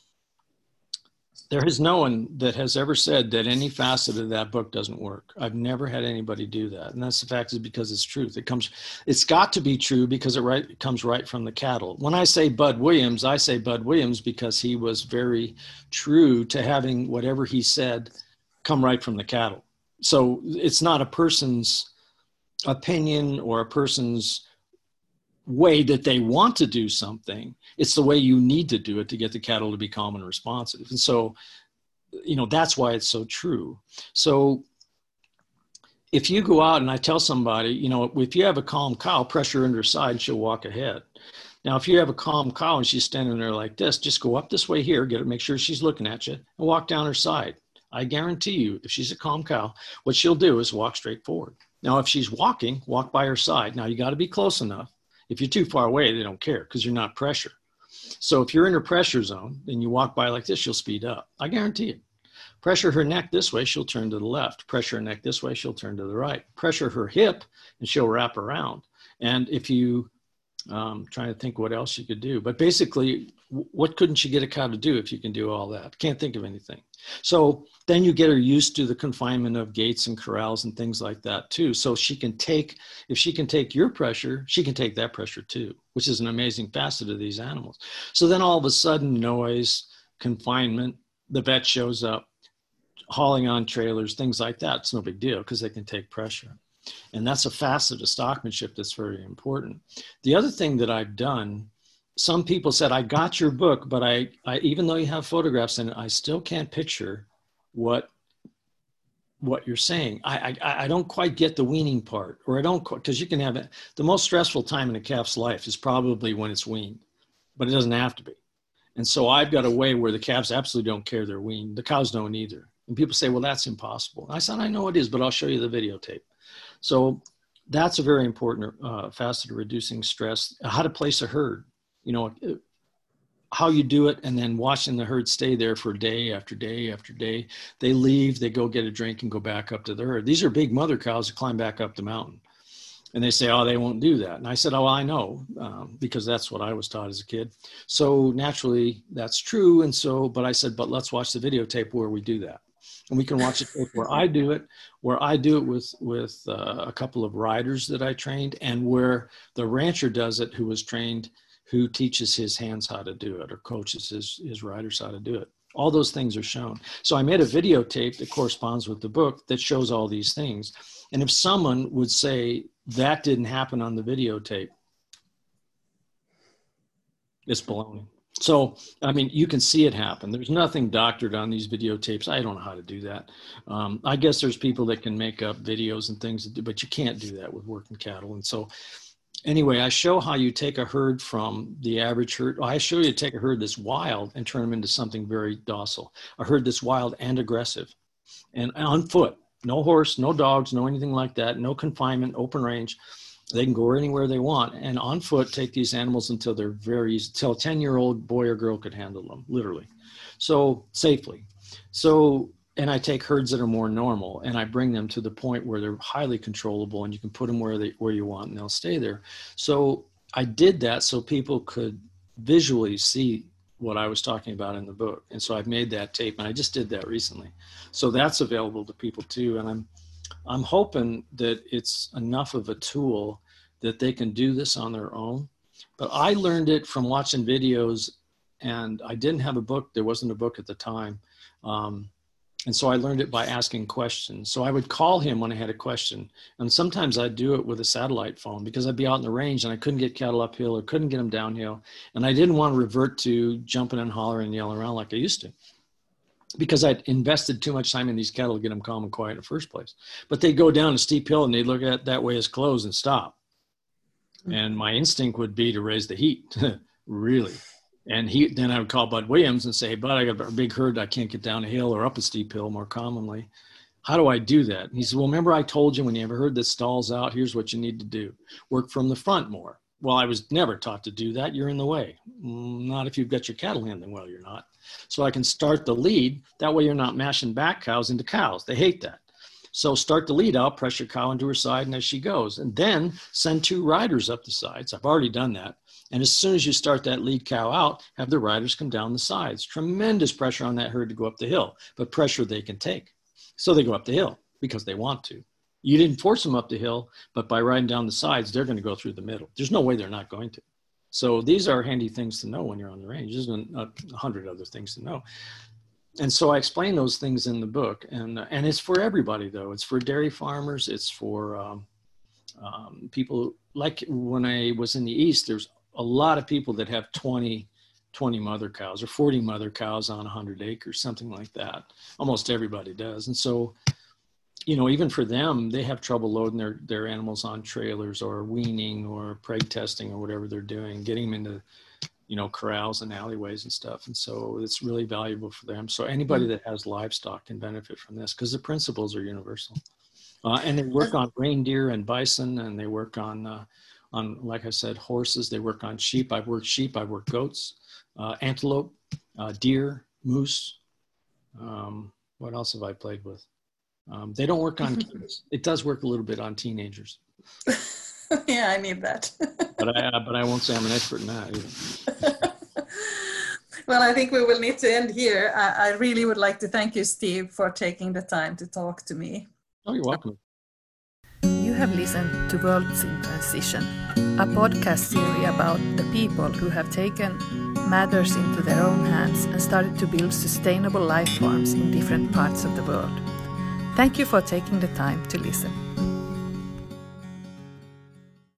there is no one that has ever said that any facet of that book doesn't work. I've never had anybody do that. And that's the fact, is because it's truth. It comes, it's got to be true because it, right, it comes right from the cattle. When I say Bud Williams, I say Bud Williams because he was very true to having whatever he said come right from the cattle. So it's not a person's opinion or a person's way that they want to do something. It's the way you need to do it to get the cattle to be calm and responsive. And so, you know, that's why it's so true. So if you go out and I tell somebody, you know, if you have a calm cow, pressure under her side and she'll walk ahead. Now, if you have a calm cow and she's standing there like this, just go up this way here, get her, make sure she's looking at you, and walk down her side. I guarantee you, if she's a calm cow, what she'll do is walk straight forward. Now, if she's walking, walk by her side. Now, you got to be close enough. If you're too far away, they don't care because you're not pressure. So if you're in her pressure zone, then you walk by like this, she'll speed up. I guarantee it. Pressure her neck this way, she'll turn to the left. Pressure her neck this way, she'll turn to the right. Pressure her hip, and she'll wrap around. And if you, um, trying to think what else you could do, but basically, what couldn't you get a cow to do if you can do all that? Can't think of anything. So then you get her used to the confinement of gates and corrals and things like that too. So she can take, if she can take your pressure, she can take that pressure too, which is an amazing facet of these animals. So then all of a sudden, noise, confinement, the vet shows up, hauling on trailers, things like that. It's no big deal because they can take pressure. And that's a facet of stockmanship that's very important. The other thing that I've done, some people said, I got your book, but I, I, even though you have photographs in it, I still can't picture what, what you're saying. I, I, I don't quite get the weaning part, or I don't, because you can have it. The most stressful time in a calf's life is probably when it's weaned, but it doesn't have to be. And so I've got a way where the calves absolutely don't care they're weaned. The cows don't either. And people say, well, that's impossible. And I said, I know it is, but I'll show you the videotape. So that's a very important uh, facet of reducing stress. How to place a herd, you know, how you do it, and then watching the herd stay there for day after day after day. They leave, they go get a drink and go back up to the herd. These are big mother cows that climb back up the mountain. And they say, oh, they won't do that. And I said, oh, I know, um, because that's what I was taught as a kid. So naturally, that's true. And so, but I said, but let's watch the videotape where we do that. And we can watch it where I do it, where I do it with, with uh, a couple of riders that I trained, and where the rancher does it who was trained, who teaches his hands how to do it or coaches his, his riders how to do it. All those things are shown. So I made a videotape that corresponds with the book that shows all these things. And if someone would say that didn't happen on the videotape, it's baloney. So, I mean, you can see it happen. There's nothing doctored on these videotapes. I don't know how to do that. Um, I guess there's people that can make up videos and things, but you can't do that with working cattle. And so anyway, I show how you take a herd from the average herd. I show you take a herd that's wild and turn them into something very docile. A herd that's wild and aggressive and on foot. No horse, no dogs, no anything like that. No confinement, open range. They can go anywhere they want. And on foot, take these animals until they're very easy, until a ten-year-old boy or girl could handle them, literally. So safely. So, and I take herds that are more normal and I bring them to the point where they're highly controllable and you can put them where they where you want and they'll stay there. So I did that so people could visually see what I was talking about in the book. And so I've made that tape and I just did that recently. So that's available to people too. And I'm I'm hoping that it's enough of a tool that they can do this on their own. But I learned it from watching videos and I didn't have a book. There wasn't a book at the time. Um, and so I learned it by asking questions. So I would call him when I had a question. And sometimes I'd do it with a satellite phone because I'd be out in the range and I couldn't get cattle uphill or couldn't get them downhill. And I didn't want to revert to jumping and hollering and yelling around like I used to, because I'd invested too much time in these cattle to get them calm and quiet in the first place. But they'd go down a steep hill and they'd look at that way as closed and stop. And my instinct would be to raise the heat, really. And he, then I would call Bud Williams and say, hey, Bud, I got a big herd. I can't get down a hill or up a steep hill more commonly. How do I do that? And he said, well, remember I told you when you have a herd that stalls out, here's what you need to do. Work from the front more. Well, I was never taught to do that. You're in the way. Not if you've got your cattle handling well, you're not. So I can start the lead. That way you're not mashing back cows into cows. They hate that. So start the lead out, press your cow into her side and as she goes. And then send two riders up the sides. I've already done that. And as soon as you start that lead cow out, have the riders come down the sides. Tremendous pressure on that herd to go up the hill, but pressure they can take. So they go up the hill because they want to. You didn't force them up the hill, but by riding down the sides, they're going to go through the middle. There's no way they're not going to. So these are handy things to know when you're on the range. There's a hundred other things to know. And so I explain those things in the book. And, uh, and it's for everybody, though. It's for dairy farmers. It's for um, um, people, like when I was in the East, there's a lot of people that have twenty, twenty mother cows or forty mother cows on one hundred acres, something like that. Almost everybody does. And so, you know, even for them, they have trouble loading their, their animals on trailers or weaning or preg testing or whatever they're doing, getting them into, you know, corrals and alleyways and stuff. And so it's really valuable for them. So anybody that has livestock can benefit from this because the principles are universal. Uh, and they work on reindeer and bison, and they work on, uh, on, like I said, horses. They work on sheep. I've worked sheep. I've worked goats, uh, antelope, uh, deer, moose. Um, what else have I played with? Um, they don't work on kids. It does work a little bit on teenagers. Yeah, I need that. but I uh, but I won't say I'm an expert in that either. Well, I think we will need to end here. I, I really would like to thank you, Steve, for taking the time to talk to me. Oh, you're welcome. You have listened to Worlds in Transition, a podcast series about the people who have taken matters into their own hands and started to build sustainable life forms in different parts of the world. Thank you for taking the time to listen.